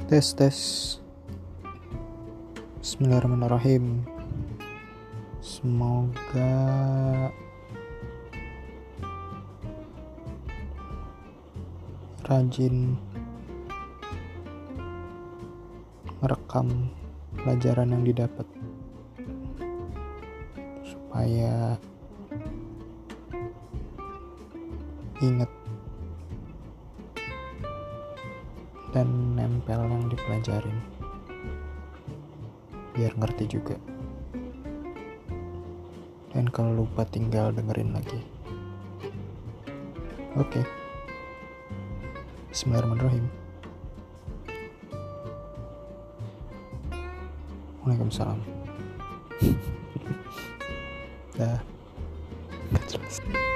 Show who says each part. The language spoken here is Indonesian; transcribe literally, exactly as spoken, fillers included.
Speaker 1: Tes tes. Bismillahirrahmanirrahim. Semoga rajin merekam pelajaran yang didapat supaya ingat dan nempel yang dipelajarin, biar ngerti juga. Dan kalau lupa tinggal dengerin lagi. Oke. Bismillahirrahmanirrahim. Waalaikumsalam. Dah. Gak jelas.